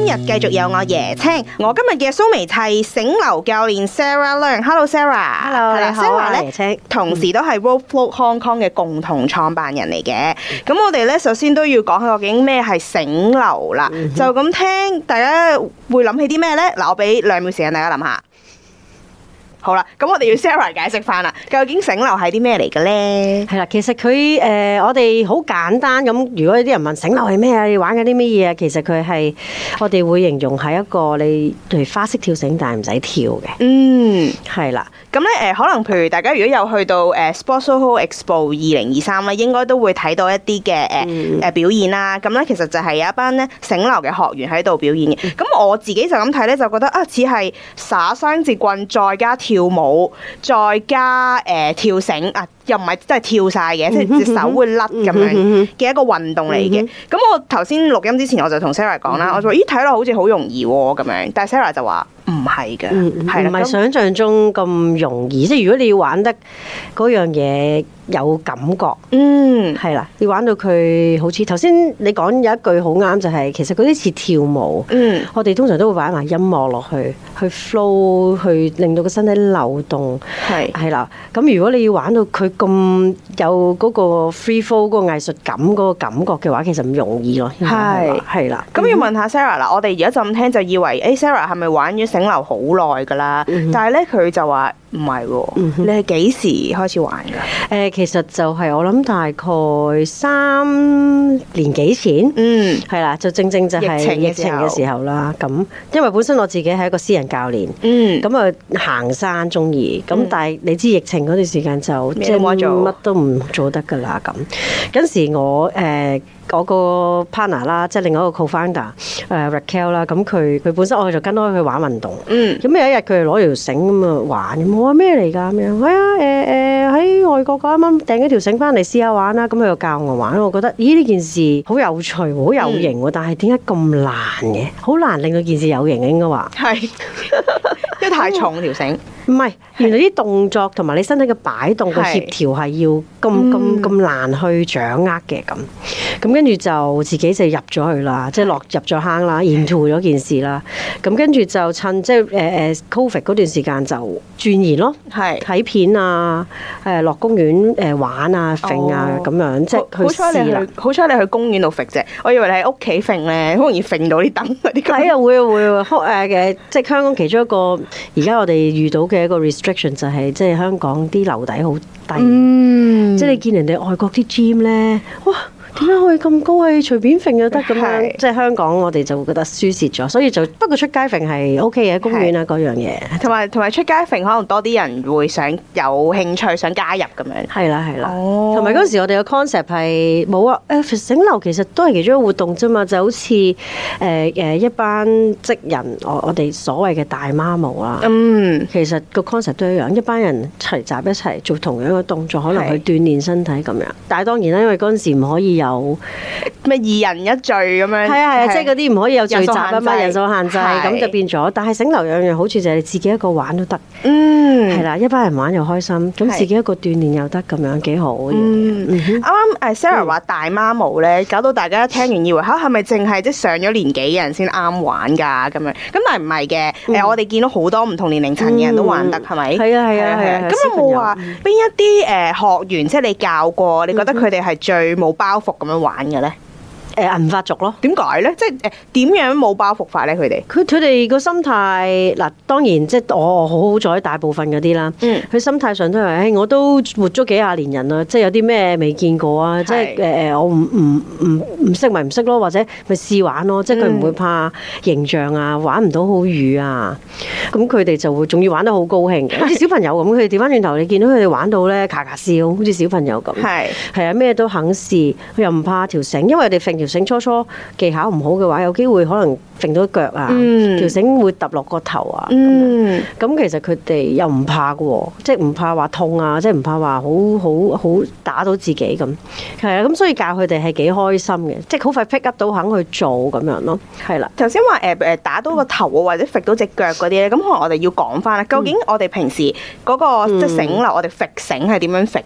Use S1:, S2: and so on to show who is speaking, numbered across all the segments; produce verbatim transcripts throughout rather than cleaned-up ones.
S1: 日繼續有我椰青，我今日嘅蘇眉係醒流教練 Sarah Leung。Hello Sarah，Hello
S2: 你好
S1: Sarah 咧，
S2: 椰青
S1: 同時都係 Road Float Hong Kong 嘅共同創辦人嚟嘅。咁我哋咧首先都要講下究竟咩係醒流啦。嗯、就咁聽，大家會諗起啲咩咧？嗱，我俾兩秒時間大家諗下。好啦，咁我哋要 Sarah 解釋翻啦，究竟醒流係啲咩嚟嘅咧？係
S2: 啦，其實佢誒、呃、我哋好簡單咁，如果有啲人問醒流係咩啊？你玩緊啲咩嘢啊？其實佢係我哋會形容係一個你例如花式跳繩，但係唔使跳嘅。嗯，係啦。
S1: 咁咧誒，可能譬如大家如果有去到誒 Sportsoho Expo 二零二三咧，應該都會睇到一啲嘅誒誒表演啦。咁咧、嗯、其實就係有一班咧醒流嘅學員喺度表演嘅。咁、嗯、我自己就咁睇咧，就覺得啊，似係耍雙節棍再加跳舞，再加誒、呃、跳繩啊，又唔係真係跳晒嘅，即係隻手會甩咁樣嘅一個運動嚟嘅。咁、嗯嗯、我頭先錄音之前我就同 Sarah 講啦，嗯、我就話咦睇落好似好容易喎咁樣，但係 Sarah 就話唔係㗎，係唔
S2: 係想像中咁容易。即係如果你要玩得嗰樣嘢有感覺，嗯，係啦，你玩到佢好似頭先你講有一句好啱，就係、是、其實嗰啲似跳舞，嗯，我哋通常都會擺埋音樂落去，去 flow， 去令到個身體流動，係係啦。咁如果你要玩到佢咁有嗰個 free flow 嗰個藝術感嗰個感覺嘅話，其實唔容易咯，係係啦。咁要問下 Sarah 啦，我哋而家就咁聽就以為誒 Sarah 係咪玩咗醒流好耐㗎啦？嗯、但係咧佢就話唔係喎，嗯、你係幾時開始玩㗎？誒，其實就係我諗大概三年幾前，嗯，係啦，就正正就係疫情嘅時候啦。咁因為本身我自己係一個私人教練，嗯，咁啊行山中意，咁、嗯、但係你知疫情嗰段時間就即係乜都唔做得㗎啦。咁嗰時我誒。呃我個 partner 啦，即係另外一個 co-founder 誒、uh, Raquel 啦，咁佢佢本身我就跟開佢玩運動，嗯，咁有一日佢攞條繩咁啊玩，咁我話咩嚟㗎咁樣？係啊誒誒喺外國啱啱訂咗條繩翻嚟試下玩啦，咁佢就教我玩，我覺得咦呢件事好有趣，好有型喎，嗯、但係點解咁難嘅？好難令到件事有型嘅應該話係，因為太重條繩。唔係，原來啲動作同埋你身體嘅擺動嘅協調係要咁咁咁難去掌握嘅咁，咁跟住就自己就入咗去啦，即係落入咗坑啦，into咗件事啦。咁跟住就趁即係誒誒 Covid 嗰段時間就鑽研咯，係睇片啊，誒落公園誒玩啊、揈啊咁樣，即係去試啦。
S1: 好彩你去公園度揈啫，我以為你喺屋企揈咧，好容易揈到啲燈嗰啲。
S2: 係啊，會啊會啊，誒嘅即係香港其中一個而家我哋遇到嘅一個 restriction 就係即係香港啲樓底好低，嗯、即係你見人哋外國啲 gym 咧，哇！點解可以咁高啊？隨便揈就得咁樣，是即係香港我哋就會覺得輸蝕咗，所以就不過出街揈係 OK 嘅，公園啊嗰樣嘢，
S1: 同埋同埋出街揈可能多啲人會想有興趣想加入咁樣。係啦係啦，
S2: 同埋嗰陣時我哋嘅 concept 係冇啊，誒醒流其實都係其中一個活動啫嘛，就好似誒誒一班職人，我我哋所謂嘅大媽模啦，嗯，其實個 concept 都一樣，一班人齊集一齊做同樣嘅動作，可能去鍛鍊身體咁樣。但係當然啦，因為嗰陣時唔可以有有
S1: 咩二人一聚咁樣？係
S2: 啊係啊，即係嗰啲唔可以有聚集啊嘛，人數限制，咁就變咗。但係醒流有樣好處就係你自己一個玩都得，嗯，係啦，一班人玩又開心，咁自己一個鍛鍊又得，咁樣幾好嘅。嗯，啱
S1: 啱誒 Sarah 話大媽模咧，搞到大家聽完以為嚇係咪淨係即係上咗年紀嘅人先啱玩㗎咁樣？咁但係唔係嘅，誒我哋見到好多唔同年齡層嘅人都玩得，係咪？係啊係啊係啊。咁有冇話邊一啲誒學員即係你教過，你覺得佢哋係最冇包袱咁樣玩嘅咧？
S2: 誒銀髮族咯，
S1: 點解咧？即係誒點樣冇包袱法咧？佢哋
S2: 佢佢哋個心態嗱，當然即係我好好彩，大部分嗰啲啦，嗯，佢心態上都係誒，我都活咗幾廿年人啦，即係有啲咩未見過啊，即係誒誒，我唔唔唔唔識咪唔識咯，或者咪試玩咯，即係佢唔會怕形象啊，玩唔到好瘀啊，咁佢哋就會仲要玩得好高興嘅，好似小朋友咁。佢哋調翻轉頭，你見到佢哋玩到咧，咔咔笑，好似小朋友咁，係係啊，咩都肯試，佢又唔怕條繩，因為佢哋揈條繩初初技巧唔好嘅話，有機會可能揈到腳啊，嗯、條繩會揼落個頭啊。咁、嗯、其實佢哋又唔怕嘅喎，即係唔怕話痛啊，即係唔怕話好好好打到自己咁。係啊，咁所以教佢哋係幾開心嘅，即係好快 pick up 到肯去做咁樣咯。係啦，
S1: 頭先話誒誒打到個頭啊，或者揈到隻腳嗰啲咧，咁可能我哋要講翻啦。究竟我哋平時嗰、嗰個、嗯、即係繩流，我哋揈繩係點樣揈嘅咧？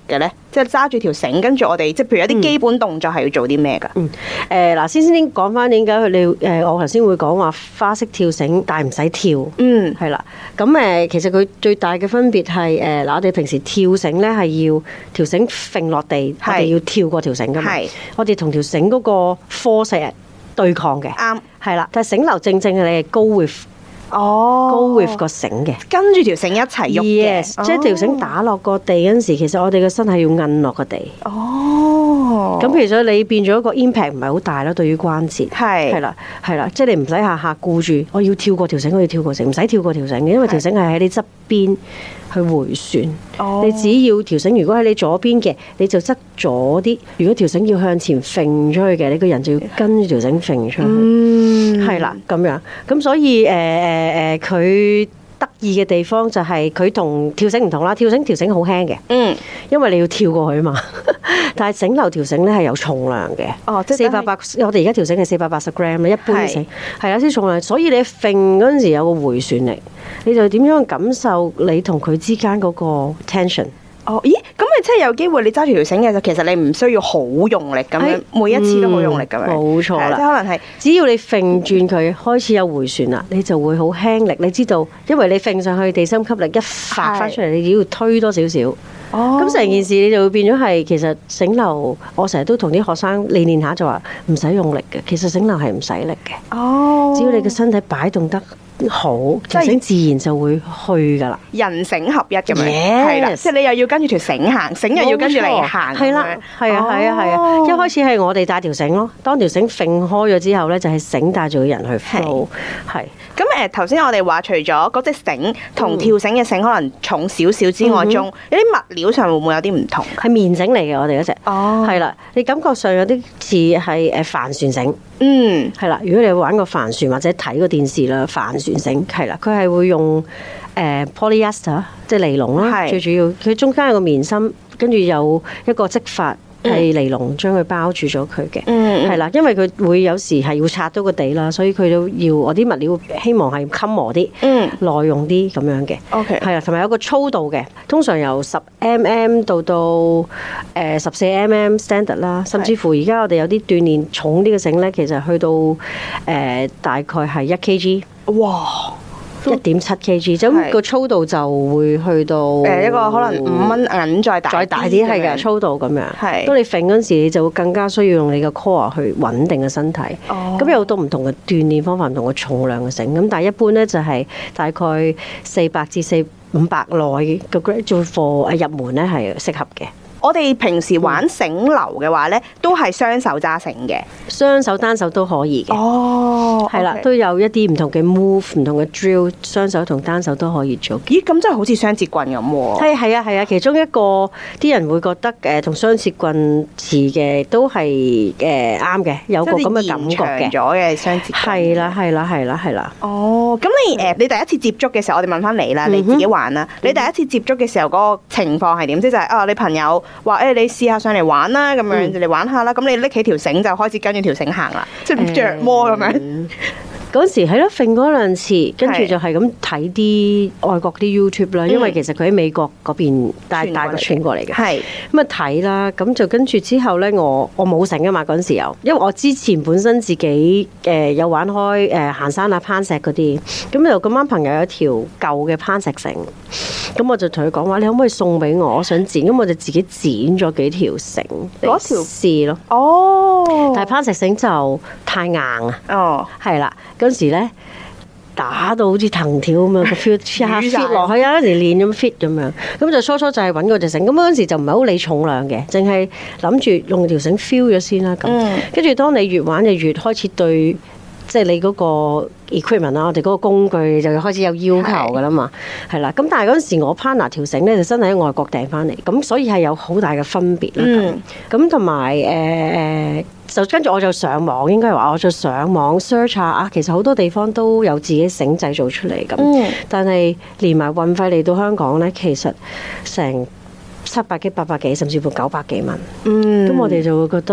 S1: 即係揸住條繩，跟住我哋即係譬如有啲基本動作係要做啲咩㗎？
S2: 嗯，誒嗱，先先講翻點解佢你誒我頭先會講話花式跳繩，但係唔使跳。嗯，係啦。咁誒，其實佢最大嘅分別係誒嗱，我哋平時跳繩咧係要條繩揈落地，我哋要跳過條繩㗎嘛。係，我哋同條繩嗰個 force 對抗嘅。啱，係啦。但係繩流正正係你係 go with。哦 ，go with 個繩嘅，
S1: 跟住條繩一齊喐嘅，
S2: 即係條繩打落個地嗰陣時，其實我哋個身係要摁落個地。哦，咁其實你變咗一個 impact 唔係好大咯，對於關節係係啦係啦，即係你唔使下下顧住我要跳過條繩，我要跳過繩，唔使跳過條繩嘅，因為條繩係喺你側邊去迴旋。哦，你只要條繩如果喺你左邊嘅，你就側左啲；如果條繩要向前揈出去嘅，你個人就要跟住條繩揈出去。嗯，係啦，咁樣咁所以誒誒誒，佢得意嘅地方就係佢同跳繩唔同啦。跳繩條繩好輕嘅，嗯，因為你要跳過去啊嘛。但係繩流條繩咧係有重量嘅，哦，即係四百八，我哋而家條繩係四百八十 gram 啦，一般嘅繩係有啲重量，所以你揈嗰陣時有個迴旋力，你就點樣感受你同佢之間嗰個 tension。
S1: 哦，咦，咁咪即係有機會你揸住條繩嘅時候，其實你唔需要好用力咁樣，每一次都好用力咁樣。冇錯啦，即係可能係只要你揈轉佢開始有迴旋啦，你就會好輕力。你知道，因為你揈上去地心吸力一發翻出嚟，你只要推多少少。哦，咁成件事你就會變咗係其實繩流，我成日都同啲學生練練下就話唔使用力嘅，其實繩流係唔使力嘅。哦，只要你嘅身體擺動得好，條繩自然就會去噶啦，人繩合一咁樣，係啦 Yes，即係你又要跟住條繩行，繩又要跟住你行，係啦，係啊，係啊，係啊，一開始係我哋帶條繩咯，當條繩揈開咗之後咧，就係繩帶住個人去 flow，係。咁誒頭先我哋話除咗嗰隻繩同跳繩嘅繩可能重少少之外，中、嗯、有啲物料上會唔會有啲唔同？係棉繩嚟嘅，我哋嗰隻，哦，係啦，你感覺上有啲似係誒帆船繩，嗯，係啦。如果你玩過帆船或者睇過電視啦，帆船繩係啦，佢係會用誒 polyester 即係尼龍啦，最主要佢中間有個棉芯，跟住有一個織法。係尼龍將佢包住咗佢嘅，係啦、嗯，因為佢會有時係要擦到個地啦，所以佢都要我啲物料希望係襟磨啲，嗯，耐用啲咁樣嘅。OK，係啊，同埋有個粗度嘅，通常由十 mm 到到誒十四 mm standard 啦，甚至乎而家我哋有啲鍛鍊重啲嘅繩咧，其實去到誒、呃、大概係一 kg。哇！一點七 kg，咁個粗度就會去到誒一個可能五蚊銀再大再大啲係嘅粗度咁樣。係，當你揈嗰陣時，你就會更加需要用你嘅 core 去穩定嘅身體。哦，咁有好多唔同嘅鍛鍊方法，唔同嘅重量嘅繩。咁但係一般咧就係大概四百至四五百內嘅 grade 做貨誒入門咧係適合嘅。我哋平時玩繩流嘅話咧，都係雙手揸繩嘅，雙手單手都可以嘅。哦，係啦，都有一啲唔同嘅 move， 唔同嘅 drill， 雙手同單手都可以做。咦，咁真係好似雙節棍咁喎。係係啊係啊，其中一個啲人會覺得誒同雙節棍似嘅，都係誒啱嘅，有個咁嘅感覺嘅。延長咗嘅雙節棍。係啦係啦係啦係啦。哦，咁你誒你第一次接觸嘅時候，我哋問翻你啦，你自己玩啦。你第一次接觸嘅時候嗰個情況係點？即係啊，你朋友話誒，你試下上嚟玩啦，咁樣你玩下啦。咁你拎起條繩就開始跟住條繩行啦，即係着魔咁樣。嗰時係咯，揈嗰兩次，跟住就係咁睇啲外國啲 YouTube 啦，因為其實佢喺美國嗰邊帶帶個傳過嚟嘅。係咁啊睇啦，咁就跟住之後咧，我我冇繩啊嘛嗰陣時有，因為我之前本身自己誒有玩開誒行山啊攀石嗰啲，咁就咁啱朋友有一條舊嘅攀石繩，咁我就同佢講話，你可唔可以送俾我？我想剪，咁我就自己剪咗幾條繩嗰條試咯。哦，但係攀石繩就太硬啊。哦，係啦。嗰時咧打到好似藤條咁樣，個 feel 下 fit 落去啊，嗰時練咁 fit 咁樣，咁就初初就係揾嗰隻繩，咁嗰陣時就唔係好理重量嘅，淨係諗住用條繩 feel 咗先啦。咁跟住當你越玩就越開始對，即係你嗰個 equipment 啦，我哋嗰個工具就開始有要求噶啦嘛，係啦。咁但係嗰陣時我 partner 條繩咧就真係喺外國訂翻嚟，咁所以係有好大嘅分別啦。咁同埋誒誒。就跟住我就上網，應該係話我就上網 search 下啊，其實好多地方都有自己繩製造出嚟咁，嗯、但係連埋運費嚟到香港咧，其實成七百幾、八百幾，甚至乎九百幾蚊。嗯，咁我哋就會覺得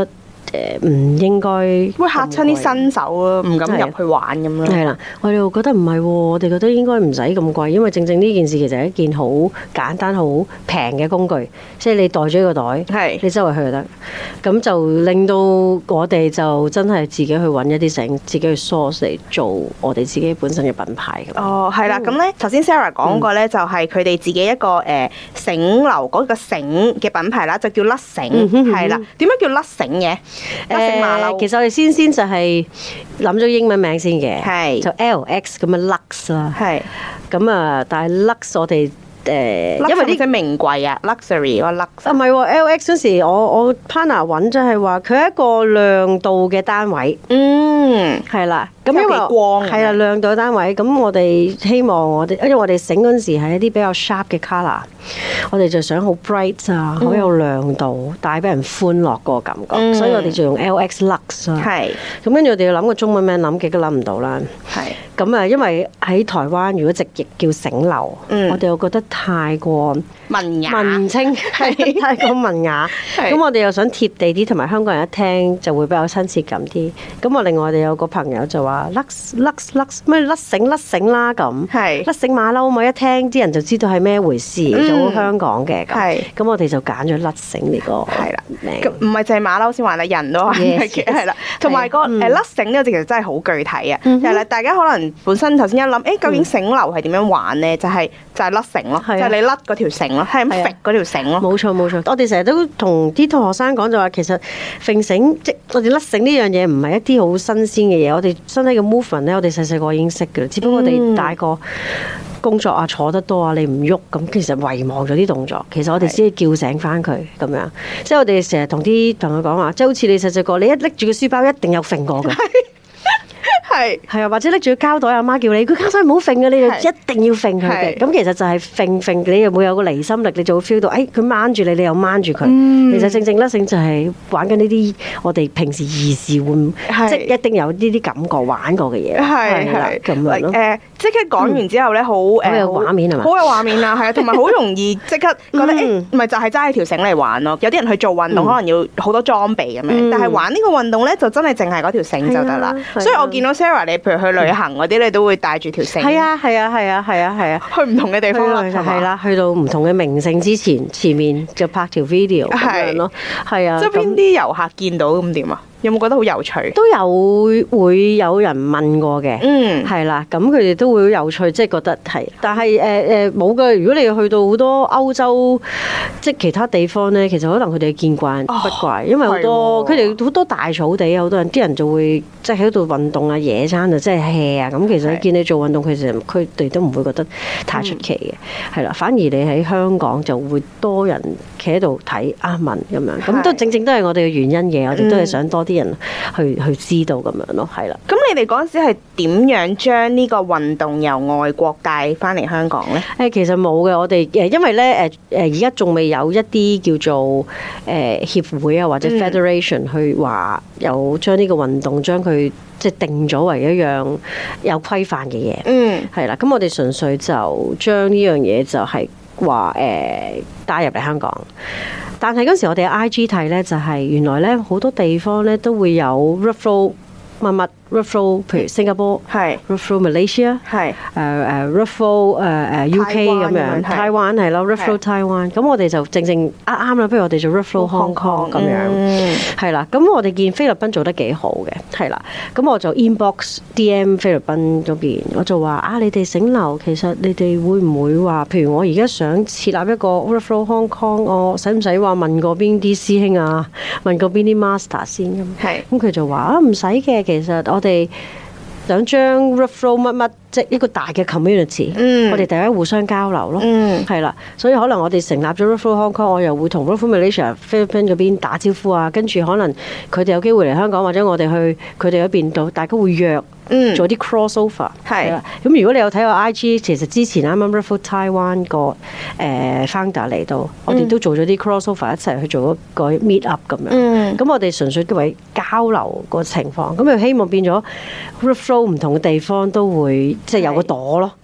S2: 誒唔應該
S1: 會嚇親啲新手咯，唔敢入去玩咁咯。
S2: 係啦，我哋又覺得唔係喎，我哋覺得應該唔使咁貴，因為正正呢件事其實係一件好簡單、好平嘅工具，即係你袋咗個袋，係你周圍去就得。咁就令到我哋就真係自己去揾一啲繩，自己去 source 嚟做我哋自己本身嘅品牌咁。哦，
S1: 係啦，咁咧頭先 Sarah 講過咧，就係佢哋自己一個誒繩流嗰個繩嘅品牌啦，就叫甩繩，係啦。點解叫甩繩嘅？
S2: 誒，其實我哋先先就係諗咗英文名先嘅，係就 L X 咁嘅 Lux 啦，係咁啊，但係 Lux 我哋誒，因為呢個名貴啊 ，luxury 個 Lux 啊，唔係喎 ，L X 嗰時我我 partner 揾就係話佢係一個亮度嘅單位，嗯，係啦。咁因為係啦，亮度單位，咁我哋希望我哋，因為我哋繩嗰陣時係一啲比較 sharp 嘅 colour，我哋就想好 bright 啊，好有亮度，帶俾人歡樂個感覺，嗯、所以我哋就用 L X Lux 啊。係。咁跟住我哋要諗個中文名，諗極都諗唔到啦。係。咁啊，因為喺台灣如果直譯叫繩流，嗯、我哋又覺得太過文雅、文青，係太過文雅。咁我哋又想貼地啲，同埋香港人一聽就會比較親切感啲。咁我另外我哋有個朋友就話。甩甩甩咩甩繩甩繩啦咁，係甩繩馬騮嘛，一聽啲人就知道係咩回事，就好香港嘅咁。係咁，我哋就揀咗甩繩呢個係啦名。唔係淨係馬騮先玩啦，人都玩嘅係啦。同埋個誒甩繩呢個字其實真係好具體啊。係啦，大家可能本身頭先一諗，誒究竟繩流係點樣玩咧？就係就係甩繩咯，就係你甩嗰條繩咯，係咁揈嗰條繩咯。冇錯冇錯，我哋成日都同啲同學生講就話，其實揈繩即我哋甩繩呢樣嘢唔係一啲好新鮮嘅嘢，我哋身體嘅 movement 咧，我哋細細個已經識嘅啦。只不過我哋大個工作啊，坐得多啊，你唔喐咁，其實遺忘咗啲動作。其實我哋只係叫醒翻佢咁樣。即係我哋成日同啲朋友講話，即係好似你細細個，你一拎住個書包，一定有揈過嘅。係係啊，或者拎住個膠袋，阿媽叫你，佢膠袋唔好揈嘅，你就一定要揈佢嘅。咁其實就係揈揈，你又會有個離心力，你就會 feel 到，誒佢掹住你，你又掹住佢。嗯、其實正正甩繩就係玩緊呢啲我哋平時兒時會，即係一定有呢啲感覺玩過嘅嘢。係係咁樣咯。誒，即刻講完之後咧，好誒，好有畫面係嘛？好有畫面啊，係啊，同埋好容易即刻覺得誒，唔係就係揸起條繩嚟玩咯。有啲人去做運動，可能要好多裝備咁樣，但係玩呢個運動咧，就真係淨係嗰條繩就得啦。所以我見到 Sarah，你譬如去旅行嗰啲，你都會帶住條繩。係啊，係啊，係啊，係啊，係啊，去唔同嘅地方啦，係啦，去到唔同嘅名勝之前，前面就拍條 video 咁樣咯。係啊，即係邊啲遊客見到咁點啊？有冇覺得好有趣？都有會有人問過嘅，嗯，係啦，咁佢哋都會好有趣，即係覺得係。但係誒誒冇嘅，如果你去到好多歐洲，即係其他地方咧，其實可能佢哋見慣不怪，因為好多佢哋好多大草地，好多人啲人就會即係喺度運動啊、野餐啊、即係 hea 啊。咁其實見你做運動，其實佢哋都唔會覺得太出奇嘅，係啦。反而你喺香港就會多人企喺度睇啊問咁樣，咁都正正都係我哋嘅原因嘅，我哋都係想多啲人去去知道咁樣咯，係啦。咁你哋嗰陣時係點樣將呢個運動由外國帶翻嚟香港咧？誒，其實冇嘅，我哋誒因為咧誒誒而家仲未有一啲叫做誒協會啊或者 federation 去話有將呢個運動將佢即係定咗為一樣有規範嘅嘢。嗯，係啦。咁我哋純粹就將呢樣嘢就係話誒帶入嚟香港。但係嗰時我哋喺 I G 睇咧，就係原來咧好多地方咧都會有 referral 乜乜 referral，譬如新加坡係 referral Malaysia 係誒誒 referral 誒誒 U K 咁樣 Taiwan 係咯 referral Taiwan，咁我哋就正正啱啱啦，不如我哋做 referral Hong Kong 咁樣係啦。咁我哋見菲律賓做得幾好嘅，係啦。咁我就 inbox D M 菲律賓嗰邊，我就話啊，你哋繩流其實你哋會唔會話，譬如我而家想設立一個 referral Hong Kong，我使唔使話問過邊啲師兄啊，問過邊啲 master 先咁？係咁佢就話啊，唔使嘅，其實我哋想將 referral 乜乜，即係一個大嘅 community，嗯、我哋大家互相交流咯，係啦、嗯，所以可能我哋成立咗 referral Hong Kong，我又會同 referral Malaysia 菲律賓嗰邊打招呼啊，跟住可能佢哋有機會嚟香港，或者我哋去佢哋嗰邊度，大家會約。嗯，做啲 crossover 係啦。咁如果你有睇我 I G，其實之前啱啱 referral Taiwan 個誒 founder 嚟到，我哋都做咗啲 crossover 一齊去做一個 meet up 咁樣。嗯，咁我哋純粹為交流個情況，咁就希望變咗 referral 唔同嘅地方都會即係有個朵咯。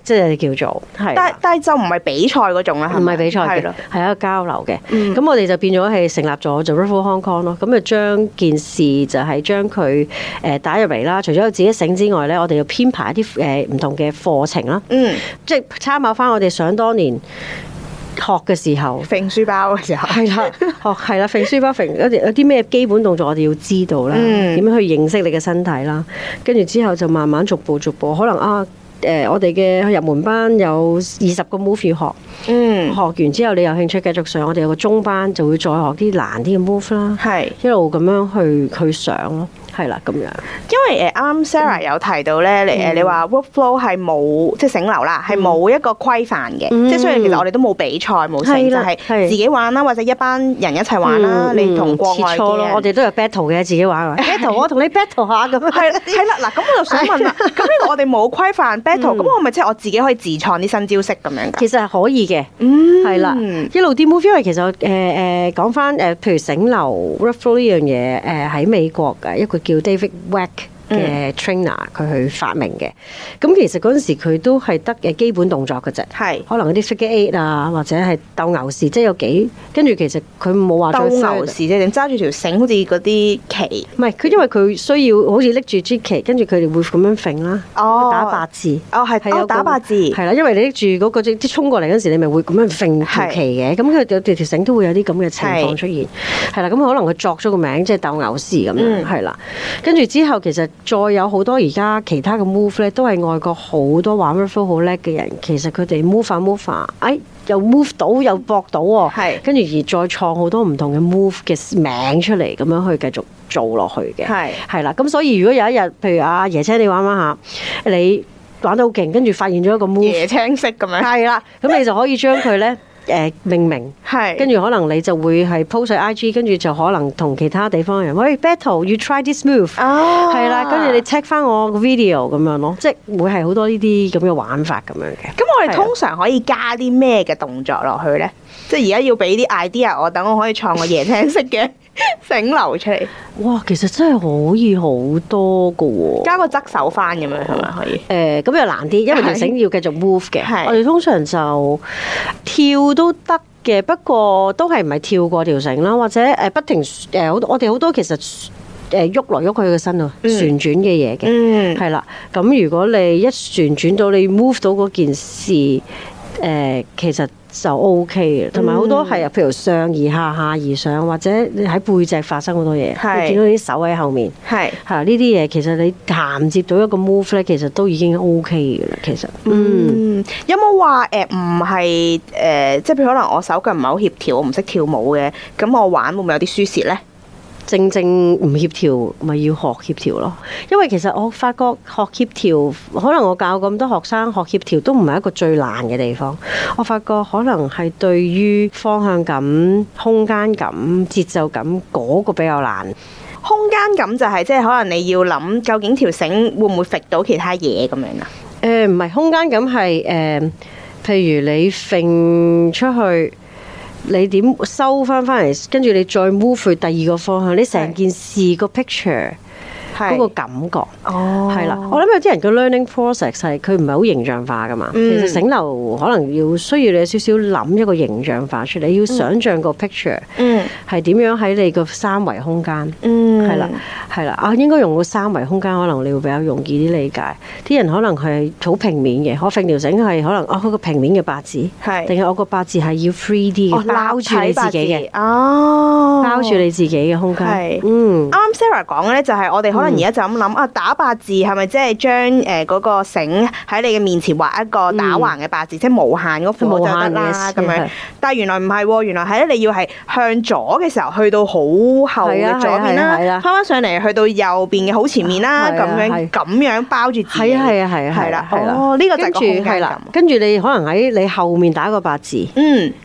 S2: 即係叫做係。
S1: 但但係就唔係比賽嗰種啦，
S2: 唔係比賽嘅，係一個交流嘅。咁、嗯、我哋就變咗係成立咗就 Ruffle Hong Kong 咯。咁就將件事就係將佢誒打入嚟啦。除咗有自己醒之外咧，我哋要編排一啲誒唔同嘅課程啦。嗯，即係參考翻我哋想當年學嘅時候，揈書包嘅時候，係啦，學係啦，揈書包揈有啲有啲咩基本動作我哋要知道啦，點樣、嗯、去認識你嘅身體啦，跟住之後就慢慢逐步逐步，可能啊誒、呃，我哋嘅入門班有二十個 move 要學，嗯，學完之後你有興趣繼續上，我哋有個中班就會再學啲難啲嘅 move 啦，係一路咁樣去去上咯。係啦，咁樣。
S1: 因為誒啱啱 Sarah 有提到咧，你誒你話 workflow 係冇即係醒流啦，係冇一個規範嘅，即係雖然其實我哋都冇比賽冇成，就係自己玩啦，或者一班人一齊玩啦。你同國外嘅人，
S2: 我哋都有 battle 嘅，自己玩。battle 我同你 battle 下咁。係
S1: 係啦，嗱咁我就想問啦，咁呢個我哋冇規範 battle，咁我咪即係我自己可以自創啲新招式咁樣㗎？
S2: 其實係可以嘅，係啦，一路啲 move，因為其實誒誒講翻誒，譬如醒流 workflow 呢樣嘢誒喺美國嘅一個叫 David Weck 嘅 trainer 佢去發明嘅，咁其實嗰陣時佢都係得嘅基本動作嘅啫，係可能嗰啲 figure eight 啊，或者係鬥牛士，即係有幾跟住其實佢冇話
S1: 鬥牛士即係點揸住條繩，好似嗰啲旗，
S2: 唔係佢因為佢需要好似拎住支旗，跟住佢哋會咁樣揈啦，哦，打八字，
S1: 哦係係有打八字，係
S2: 啦，因為你拎住嗰個即係衝過嚟嗰陣時，你咪會咁樣揈條旗嘅，咁佢有條條繩都會有啲咁嘅情況出現，係啦，咁可能佢作咗個名即係鬥牛士咁樣，係啦，跟住之後其實。再有好多而家其他嘅 move 咧，都係外國好多玩 Ruffle 好叻嘅人，其實佢哋 move 翻 move 翻，哎又 move 到又搏到喎，係跟住而再創好多唔同嘅 move 嘅名出嚟，咁樣去繼續做落去嘅，係係啦。咁所以如果有一日，譬如阿椰青你玩玩下，你玩到好勁，跟住發現咗一個 move，
S1: 椰青色咁樣，
S2: 係啦，咁你就可以將佢咧。誒命名係，跟住可能你就會係 post 喺 I G，跟住就可能同其他地方嘅人，喂 battle，you try this move，係啦，跟住你 check 翻我個 video 咁樣咯，即係會係好多呢啲咁嘅玩法咁樣嘅。
S1: 咁我哋通常可以加啲咩嘅動作落去咧？即係而家要俾啲 idea 我，等我可以創個椰青色嘅醒流出嚟。
S2: 哇，其實真係可以好多噶喎！
S1: 加個側手翻咁樣係咪可以？
S2: 誒，咁又難啲，因為條繩要繼續 move 嘅。我哋通常就跳都得嘅，不過都係唔係跳過條繩啦，或者誒不停誒，我哋好多其實誒喐來喐去嘅身啊，旋轉嘅嘢嘅，嗯，係啦。咁如果你一旋轉到你 move 到嗰件事，誒，其實就 O K 嘅，同埋好多係啊，譬如上而下、下而上，或者你喺背脊發生好多嘢，你見到啲手喺後面，係係呢啲嘢，其實你銜接到一個 move 咧，其實都已經 O K 嘅啦。其實，嗯，
S1: 嗯有冇話誒唔係誒，即係譬如可能我手腳唔係好協調，我唔識跳舞嘅，咁我玩會唔會有啲輸蝕咧？
S2: 正正唔協調，咪要學協調咯。因為其實我發覺學協調，可能我教咁多學生學協調都唔係一個最難嘅地方。我發覺可能係對於方向感、空間感、節奏感嗰個比較難。
S1: 空間感就係即係可能你要諗究竟條繩會唔會揈到其他嘢咁樣啊？
S2: 誒唔係空間感係誒、呃，譬如你揈出去。你點收翻翻嚟，跟住你再 move 去第二個方向，你成件事個 picture 嗰個感覺，係啦。我諗有啲人嘅 learning process 係佢唔係好形象化噶嘛。嗯、其實醒流可能要需要你有少少諗一個形象化出嚟，你要想像個 picture 係點樣喺你個三維空間，係啦係啦啊，應該用個三維空間，可能你會比較容易啲理解。啲人可能係好平面嘅，我揈條繩係可能哦嗰個平面嘅八字，定係我個八字係要 three D 嘅，包住你自己嘅，哦，包住你自己嘅空間。嗯，
S1: 啱啱 Sarah 講嘅咧就係我哋可能而家就咁諗啊，打八字係咪即係將誒嗰個繩喺你嘅面前畫一個打橫嘅八字，即係無限嗰副就得啦咁樣。但係原來唔係喎，原來係咧你要係向左嘅時候去到好後嘅左邊啦，翻翻上嚟去到右邊嘅好前面啦，咁樣咁樣包住自己。係啊係啊係啊係啦，哦呢個就係個空間感。
S2: 跟住你可能喺你後面打個八字，嗯。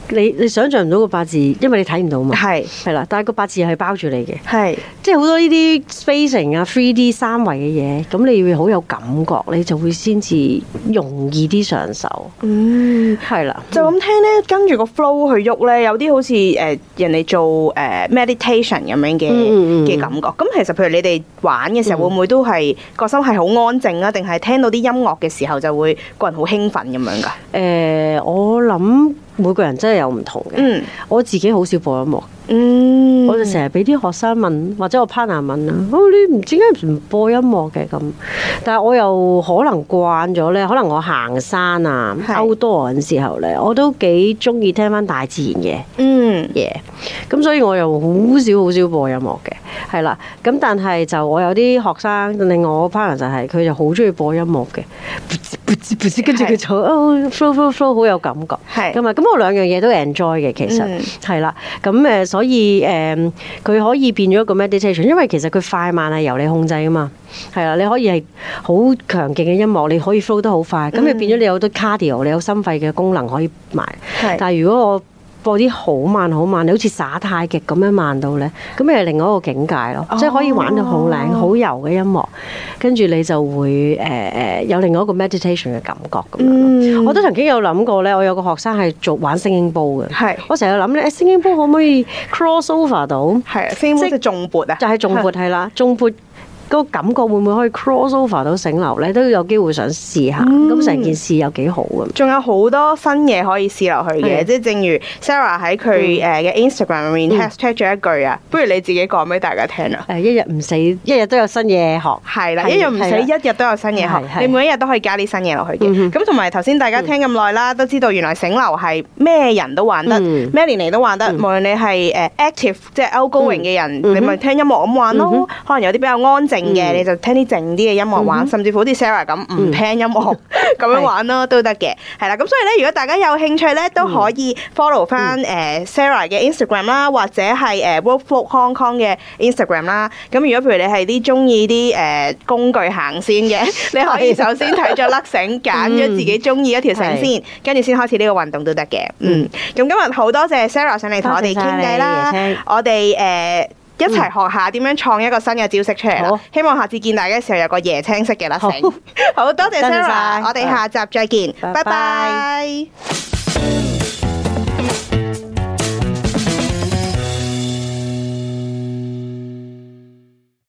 S2: 你你想象唔到個八字，因為你睇唔到嘛。係
S1: 係
S2: 係啦，但係個八字係包住你嘅。
S1: 係
S2: 即係好多呢啲 spacing 啊、three D 三維嘅嘢，咁你要好有感覺，你就會先至容易啲上手。嗯，係啦。
S1: 就咁聽咧，跟住個 flow 去喐咧，有啲好似誒人哋做誒 meditation 咁樣嘅嘅感覺。咁其實譬如你哋玩嘅時候，會唔會都係個心係好安靜啊？定係聽到啲音樂嘅時候就會個人好興奮咁樣㗎？
S2: 誒，我諗每個人真係有唔同嘅。嗯，我自己好少播音樂。嗯，我就成日俾啲學生問，或者我 partner 問啊，哦，你唔點解唔播音樂嘅咁？但係我又可能慣咗咧，可能我行山啊、outdoor 嘅時候咧，我都幾中意聽翻大自然嘅嗯嘢，咁、yeah. 所以我又好少好少播音樂嘅，係啦。咁但係就我有啲學生，另外我 partner 就係、是、佢就好中意播音樂嘅，跟住佢就哦 flow flow flow 好有感覺，係咁啊。咁我兩樣嘢都 enjoy 嘅，其實係啦。咁誒、嗯、所以誒佢、嗯、可以變咗一個 meditation， 因為其實佢快慢係由你控制噶嘛，係啦。你可以係好強勁嘅音樂，你可以 flow 得好快，咁、嗯、你變咗你有好多 cardio， 你有心肺嘅功能可以埋。但係如果我播啲好慢好慢，你好似耍太極咁樣慢到咧，咁係另外一個境界咯，哦、即係可以玩到好靚好柔嘅音樂，跟住你就會誒誒、呃、有另外一個 meditation 嘅感覺咁樣。嗯、我都曾經有諗過咧，我有個學生係做玩聲音煲嘅，係我成日諗咧，聲音煲可唔可以 cross over 到？係聲音煲即係重撥啊，就係重撥係啦，重撥。嗰個感覺會唔會可以 cross over 到醒流咧？都有機會想試下，咁成、嗯、件事有幾好咁。仲有好多新嘢可以試落去嘅，即係是正如 Sarah 喺佢誒嘅 Instagram 入面 hashtag 咗一句啊，嗯、不如你自己講俾大家聽啊！誒，一日唔死，一日都有新嘢學，係啦，一日唔死，的一日都有新嘢學，你每一日都可以加啲新嘢落去嘅。咁同埋頭先大家聽咁耐啦，都知道原來醒流係咩人都玩得，咩、嗯、年齡都玩得，嗯、無論你係誒 active 即係 outgoing 嘅人，嗯、你咪聽音樂咁玩咯。嗯、可能有啲比較安靜嘅，你就聽啲靜啲嘅音樂玩，甚至乎好似 Sarah 咁唔聽音樂咁樣玩咯，都得嘅。係啦，咁所以咧，如果大家有興趣咧，都可以 follow 翻誒 Sarah 嘅 Instagram 啦，或者係誒 Workflow Hong Kong 嘅 Instagram 啦。咁如果譬如你係啲中意啲誒工具行先嘅，你可以首先睇咗粒繩，揀咗自己中意一條繩先，跟住先開始呢個運動都得嘅。嗯，咁今日好多謝 Sarah 上嚟同我哋傾偈啦，我哋誒。一齊學下點樣創一個新嘅招式出嚟啦！好希望下次見大家嘅時候有個椰青色嘅啦，好，好多謝 Sarah，我哋下集再見，拜拜。